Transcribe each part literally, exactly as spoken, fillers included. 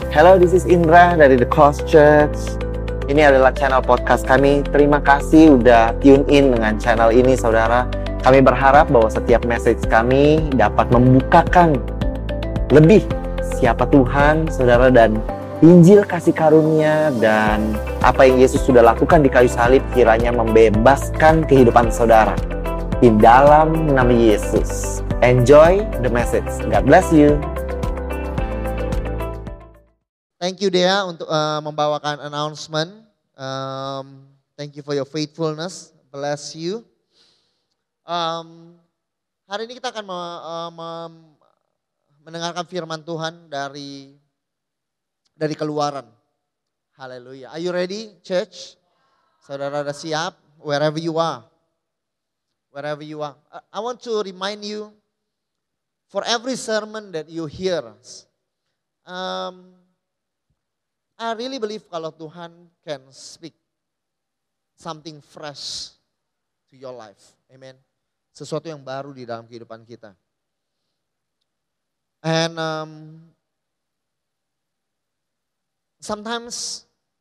Hello, this is Indra dari The Cross Church. Ini adalah channel podcast kami. Terima kasih udah tune in dengan channel ini, saudara. Kami berharap bahwa setiap message kami dapat membukakan lebih siapa Tuhan, saudara, dan Injil kasih karunia dan apa yang Yesus sudah lakukan di kayu salib kiranya membebaskan kehidupan saudara. Di dalam nama Yesus. Enjoy the message. God bless you. Thank you Dea untuk uh, membawakan announcement. Um, thank you for your faithfulness. Bless you. Um, hari ini kita akan me, uh, me, mendengarkan firman Tuhan dari dari Keluaran. Haleluya. Are you ready, church? Saudara sudah siap? Wherever you are. Wherever you are. I want to remind you, for every sermon that you hear, um, I really believe kalau Tuhan can speak something fresh to your life. Amen. Sesuatu yang baru di dalam kehidupan kita. And um, sometimes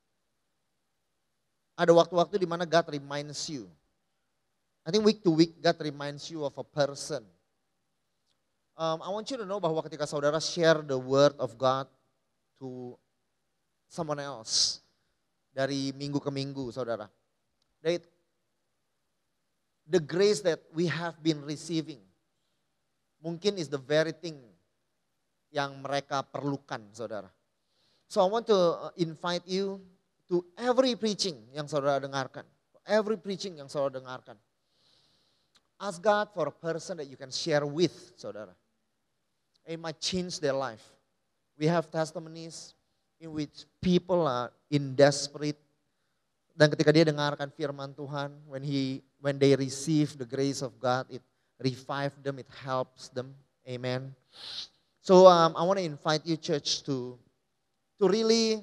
ada waktu-waktu di mana God reminds you. I think week to week God reminds you of a person. Um, I want you to know bahwa ketika saudara share the word of God to someone else dari minggu ke minggu, saudara. That the grace that we have been receiving mungkin is the very thing yang mereka perlukan, saudara. So I want to invite you to every preaching yang saudara dengarkan. Every preaching yang saudara dengarkan. Ask God for a person that you can share with, saudara. It might change their life. We have testimonies in which people are in desperate, dan ketika dia dengarkan firman Tuhan, when he when they receive the grace of God, it revives them, it helps them. Amen. So um, I want to invite you, church, to to really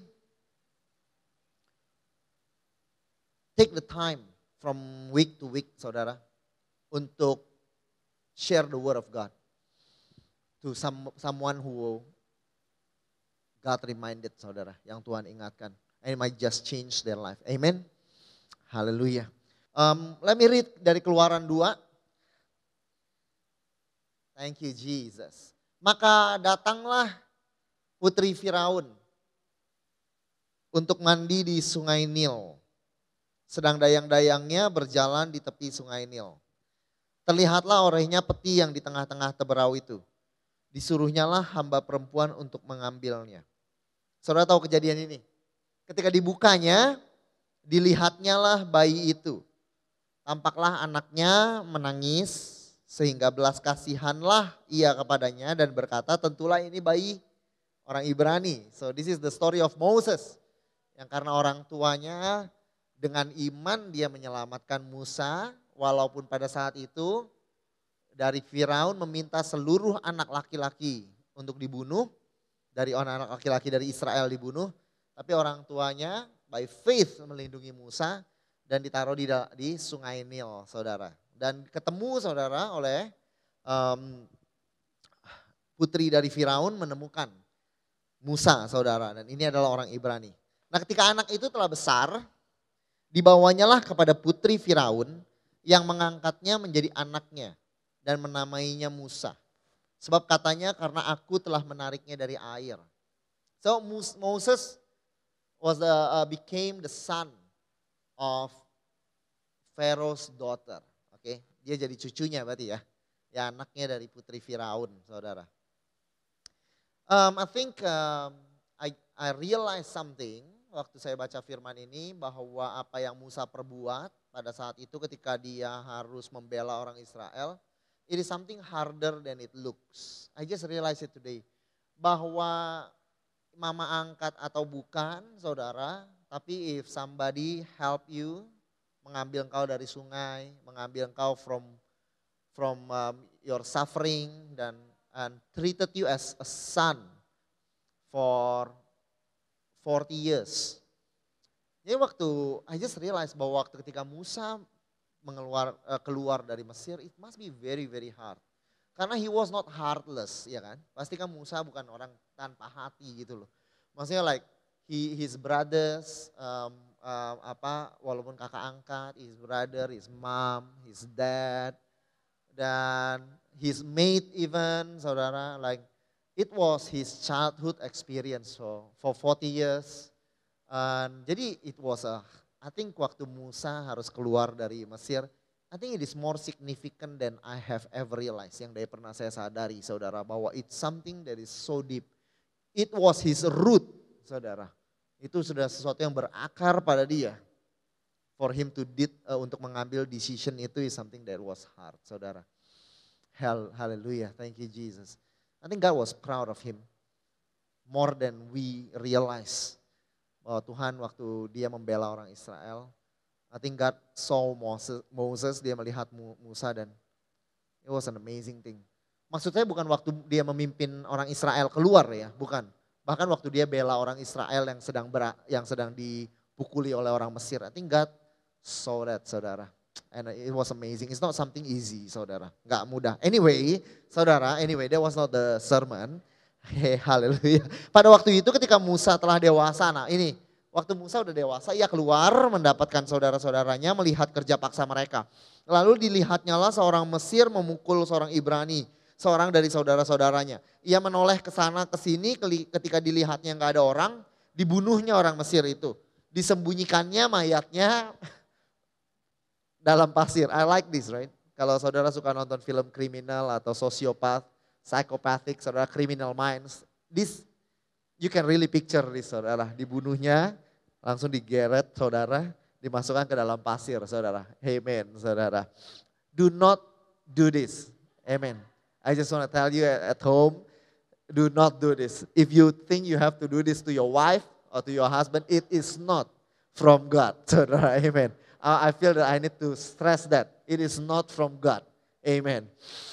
take the time from week to week, saudara, untuk share the word of God to some someone who God reminded, saudara, yang Tuhan ingatkan. And it might just change their life. Amen. Haleluya. Um, let me read dari Keluaran dua. Thank you Jesus. Maka datanglah putri Firaun untuk mandi di sungai Nil. Sedang dayang-dayangnya berjalan di tepi sungai Nil. Terlihatlah olehnya peti yang di tengah-tengah teberau itu. Disuruhnyalah hamba perempuan untuk mengambilnya. Saudara tahu kejadian ini? Ketika dibukanya, dilihatnya lah bayi itu. Tampaklah anaknya menangis, sehingga belas kasihanlah ia kepadanya dan berkata, tentulah ini bayi orang Ibrani. So this is the story of Moses. Yang karena orang tuanya dengan iman dia menyelamatkan Musa, walaupun pada saat itu dari Firaun meminta seluruh anak laki-laki untuk dibunuh. Dari anak laki-laki dari Israel dibunuh, tapi orang tuanya by faith melindungi Musa dan ditaruh di, di sungai Nil, saudara. Dan ketemu, saudara, oleh um, putri dari Firaun menemukan Musa, saudara. Dan ini adalah orang Ibrani. Nah, ketika anak itu telah besar, dibawanyalah kepada putri Firaun yang mengangkatnya menjadi anaknya dan menamainya Musa. Sebab katanya karena aku telah menariknya dari air. So Moses was the, uh, became the son of Pharaoh's daughter. Oke, okay? Dia jadi cucunya berarti ya. Ya anaknya dari putri Firaun, saudara. Um, I think um, I, I realized something waktu saya baca firman ini bahwa apa yang Musa perbuat pada saat itu ketika dia harus membela orang Israel. It is something harder than it looks. I just realized it today. Bahwa mama angkat atau bukan, saudara. Tapi if somebody help you, mengambil engkau dari sungai, mengambil engkau from from um, your suffering dan and treated you as a son for forty years. Jadi waktu I just realized bahwa waktu ketika Musa mengeluar uh, keluar dari Mesir, it must be very very hard. Karena he was not heartless, ya kan? Pasti kan Musa bukan orang tanpa hati gitu loh. Maksudnya like he, his brothers, um, um, apa, walaupun kakak angkat, his brother, his mom, his dad, dan his mate even, saudara, like it was his childhood experience so for forty years. Um, jadi it was a, I think waktu Musa harus keluar dari Mesir, I think it is more significant than I have ever realized. Yang dari pernah saya sadari saudara bahwa it's something that is so deep. It was his root saudara. Itu sudah sesuatu yang berakar pada dia. For him to did, uh, untuk mengambil decision itu is something that was hard saudara. Hell, hallelujah, thank you Jesus. I think God was proud of him. More than we realize. Bahwa Tuhan waktu dia membela orang Israel. I think God saw Moses, Moses, dia melihat Musa dan it was an amazing thing. Maksudnya bukan waktu dia memimpin orang Israel keluar ya, bukan. Bahkan waktu dia bela orang Israel yang sedang ber, yang sedang dipukuli oleh orang Mesir. I think God saw that saudara. And it was amazing. It's not something easy saudara. Gak mudah. Anyway, saudara, anyway that was not the sermon. Hey, haleluya. Pada waktu itu ketika Musa telah dewasa, nah ini. Waktu Musa udah dewasa, ia keluar mendapatkan saudara-saudaranya melihat kerja paksa mereka. Lalu dilihatnyalah seorang Mesir memukul seorang Ibrani, seorang dari saudara-saudaranya. Ia menoleh ke sana ke sini ketika dilihatnya nggak ada orang, dibunuhnya orang Mesir itu. Disembunyikannya mayatnya dalam pasir. I like this, right? Kalau saudara suka nonton film kriminal atau sosiopat, psychopathic, saudara criminal minds, this you can really picture this saudara, dibunuhnya, langsung digeret saudara, dimasukkan ke dalam pasir saudara. Amen saudara. Do not do this. Amen. I just want to tell you at home, do not do this. If you think you have to do this to your wife or to your husband, it is not from God saudara. Amen. I feel that I need to stress that. It is not from God. Amen.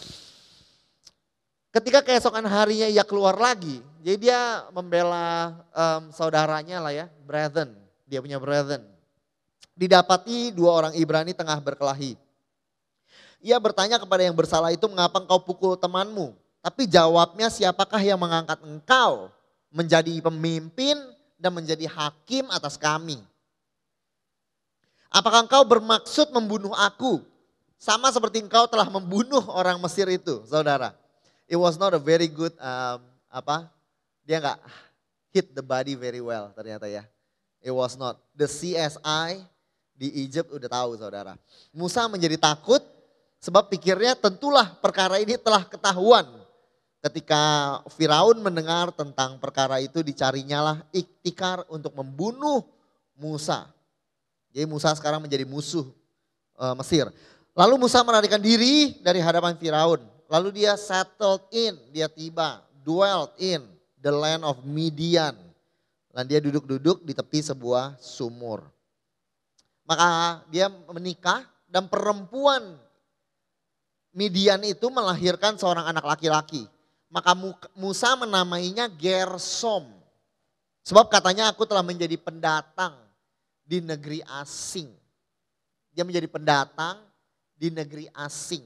Ketika keesokan harinya ia keluar lagi, jadi dia membela um, saudaranya lah ya, brethren, dia punya brethren. Didapati dua orang Ibrani tengah berkelahi. Ia bertanya kepada yang bersalah itu, mengapa engkau pukul temanmu? Tapi jawabnya, siapakah yang mengangkat engkau menjadi pemimpin dan menjadi hakim atas kami? Apakah engkau bermaksud membunuh aku? Sama seperti engkau telah membunuh orang Mesir itu, saudara. It was not a very good, um, apa, dia nggak hit the body very well ternyata ya. It was not. The C S I di Egypt udah tahu saudara. Musa menjadi takut sebab pikirnya tentulah perkara ini telah ketahuan. Ketika Firaun mendengar tentang perkara itu, dicarinya lah iktikar untuk membunuh Musa. Jadi Musa sekarang menjadi musuh uh, Mesir. Lalu Musa melarikan diri dari hadapan Firaun. Lalu dia settled in, dia tiba, dwelt in the land of Midian. Dan dia duduk-duduk di tepi sebuah sumur. Maka dia menikah dan perempuan Midian itu melahirkan seorang anak laki-laki. Maka Musa menamainya Gersom. Sebab katanya aku telah menjadi pendatang di negeri asing. Dia menjadi pendatang di negeri asing.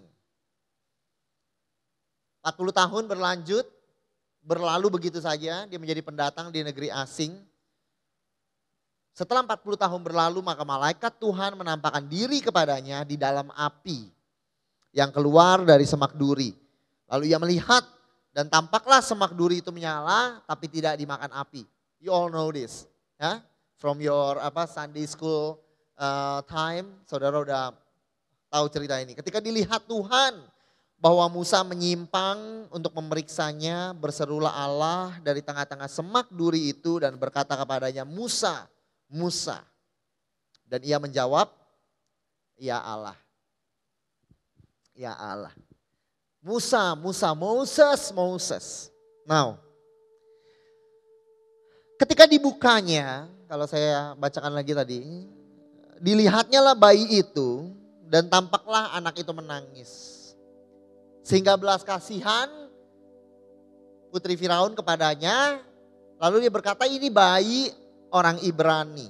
empat puluh tahun berlanjut, berlalu begitu saja, dia menjadi pendatang di negeri asing. Setelah empat puluh tahun berlalu, maka malaikat Tuhan menampakkan diri kepadanya di dalam api yang keluar dari semak duri. Lalu ia melihat dan tampaklah semak duri itu menyala tapi tidak dimakan api. You all know this, ya? From your apa Sunday school uh, time, saudara udah tahu cerita ini. Ketika dilihat Tuhan bahwa Musa menyimpang untuk memeriksanya, berserulah Allah dari tengah-tengah semak duri itu dan berkata kepadanya, Musa, Musa. Dan ia menjawab, ya Allah. Ya Allah. Musa, Musa, Moses, Moses. Now, ketika dibukanya, kalau saya bacakan lagi tadi, dilihatnya lah bayi itu dan tampaklah anak itu menangis. Sehingga belas kasihan putri Firaun kepadanya, lalu dia berkata ini bayi orang Ibrani.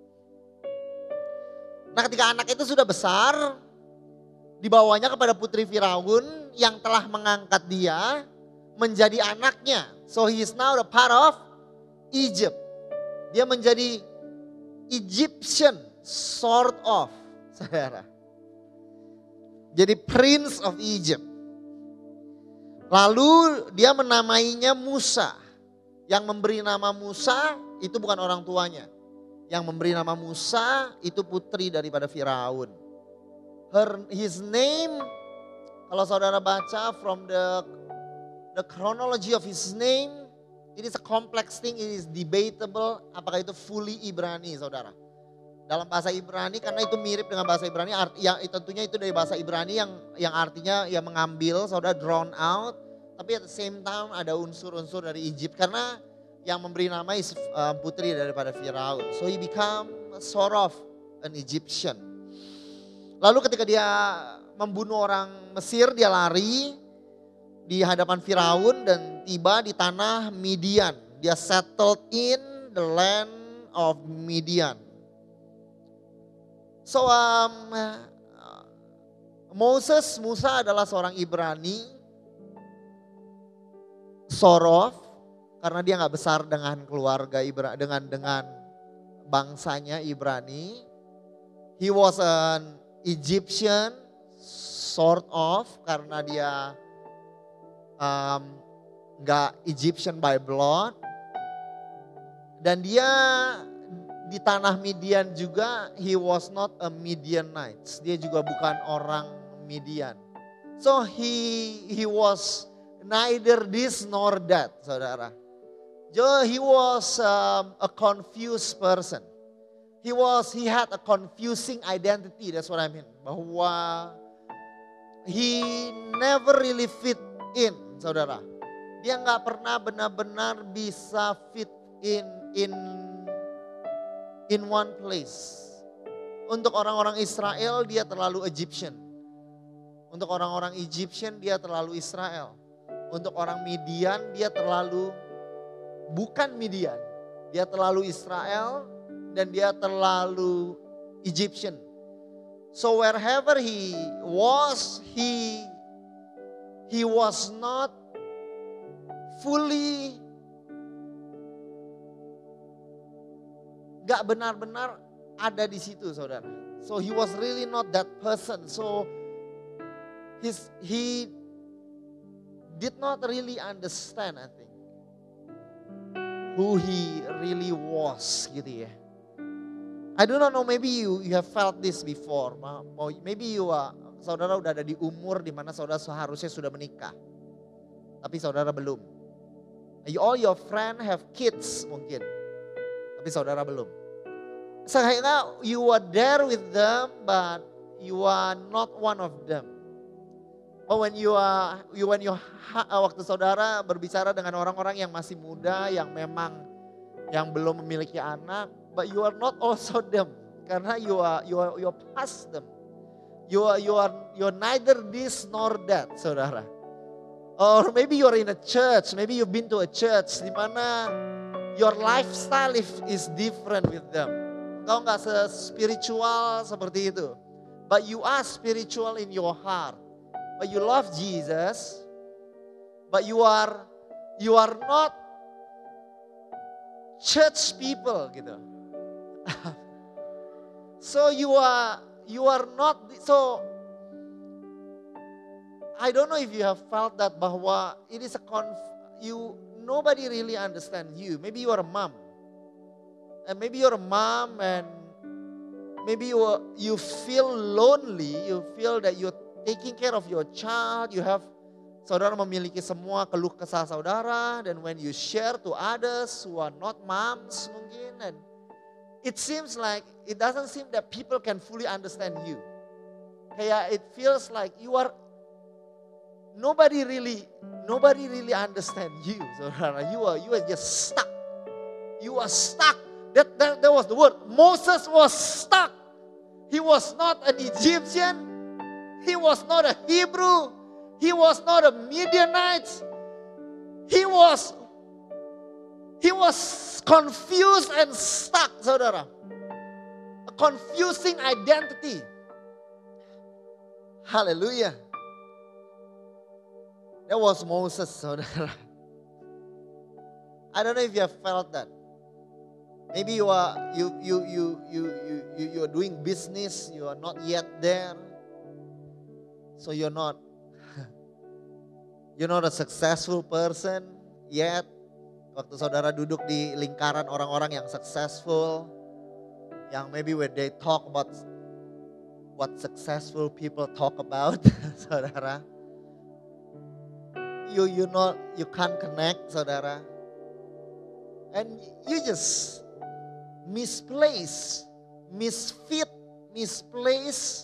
Nah ketika anak itu sudah besar, dibawanya kepada putri Firaun yang telah mengangkat dia menjadi anaknya. So he is now the part of Egypt. Dia menjadi Egyptian, sort of, saudara. Jadi Prince of Egypt. Lalu dia menamainya Musa. Yang memberi nama Musa itu bukan orang tuanya. Yang memberi nama Musa itu putri daripada Firaun. Her, his name, kalau saudara baca from the the chronology of his name, it is a complex thing, it is debatable apakah itu fully Ibrani, saudara. Dalam bahasa Ibrani, karena itu mirip dengan bahasa Ibrani, arti, ya, tentunya itu dari bahasa Ibrani yang yang artinya yang mengambil, saudara, drawn out. Tapi at the same time ada unsur-unsur dari Egypt karena yang memberi nama is uh, putri daripada Firaun. So he become sort of an Egyptian. Lalu ketika dia membunuh orang Mesir, dia lari di hadapan Firaun dan tiba di tanah Midian. Dia settled in the land of Midian. So um, Moses, Musa adalah seorang Ibrani, sorof, karena dia nggak besar dengan keluarga Ibrani, dengan dengan bangsanya Ibrani. He was an Egyptian, sort of, karena dia um, nggak Egyptian by blood. Dan dia di tanah Midian juga, he was not a Midianite. Dia juga bukan orang Midian. So he he was neither this nor that, saudara. So he was um, a confused person. He was he had a confusing identity. That's what I mean. Bahwa he never really fit in, saudara. Dia nggak pernah benar-benar bisa fit in in in one place. Untuk orang-orang Israel dia terlalu Egyptian. Untuk orang-orang Egyptian dia terlalu Israel. Untuk orang Midian dia terlalu bukan Midian. Dia terlalu Israel dan dia terlalu Egyptian. So wherever he was, he he was not fully, gak benar-benar ada di situ, saudara. So he was really not that person. So his he did not really understand, I think, who he really was, gitu ya. I do not know, maybe you you have felt this before. Maybe you are, saudara udah ada di umur di mana saudara seharusnya sudah menikah, tapi saudara belum. All your friend have kids mungkin, tapi saudara belum. Sehingga you are there with them, but you are not one of them. But when you are, you, when you waktu saudara berbicara dengan orang-orang yang masih muda, yang memang yang belum memiliki anak, but you are not also them, karena you are you are you are past them. You are you are you are neither this nor that, saudara. Or maybe you are in a church, maybe you've been to a church di mana your lifestyle is different with them. Engkau nggak se-spiritual seperti itu, but you are spiritual in your heart. But you love Jesus, but you are you are not church people gitu. So you are you are not, so I don't know if you have felt that bahwa it is a conf, you nobody really understand you. Maybe you are a mom, and maybe you're a mom, and maybe you are, you feel lonely. You feel that you're taking care of your child, you have, saudara memiliki semua keluh kesah saudara, dan when you share to others who are not moms mungkin, and it seems like, it doesn't seem that people can fully understand you. Kayak it feels like you are, nobody really, nobody really understand you, saudara. You are, you are just stuck. You are stuck. That, that, that was the word. Moses was stuck. He was not an Egyptian. He was not a Hebrew. He was not a Midianite. He was he was confused and stuck, saudara. A confusing identity. Hallelujah. That was Moses, saudara. I don't know if you have felt that. Maybe you are you you you you you you you are doing business, you are not yet there. So you're not you're not a successful person yet. Waktu saudara duduk di lingkaran orang-orang yang successful, yang maybe when they talk about what successful people talk about, saudara, you you not you can't connect, saudara, and you just misplace, misfit, misplace,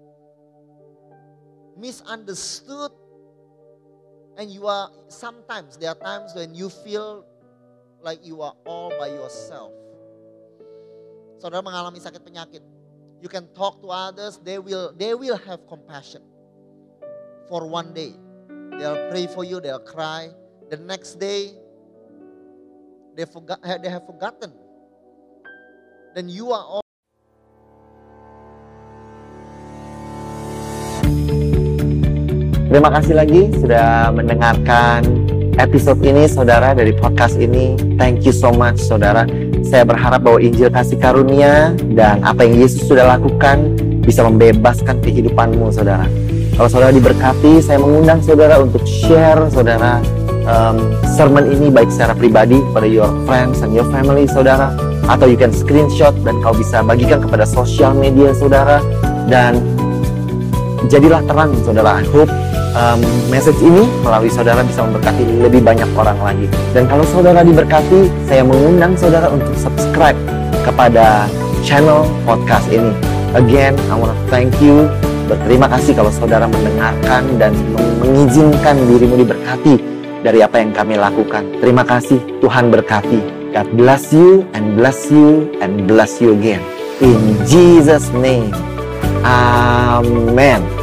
misunderstood, and you are sometimes there are times when you feel like you are all by yourself. Saudara mengalami sakit penyakit. You can talk to others, they will they will have compassion for one day. They'll pray for you, they'll cry. The next day they forgot they have forgotten. Then you are all Terima kasih lagi sudah mendengarkan episode ini saudara dari podcast ini. Thank you so much saudara. Saya berharap bahwa Injil kasih karunia dan apa yang Yesus sudah lakukan bisa membebaskan kehidupanmu saudara. Kalau saudara diberkati, saya mengundang saudara untuk share saudara um, sermon ini baik secara pribadi kepada your friends and your family saudara. Atau you can screenshot dan kau bisa bagikan kepada sosial media saudara. Dan jadilah terang saudara. I hope Um, message ini melalui saudara bisa memberkati lebih banyak orang lagi. Dan kalau saudara diberkati, saya mengundang saudara untuk subscribe kepada channel podcast ini. Again, I want to thank you. Berterima kasih kalau saudara mendengarkan dan mengizinkan dirimu diberkati dari apa yang kami lakukan. Terima kasih, Tuhan berkati. God bless you and bless you and bless you again. In Jesus' name, Amen.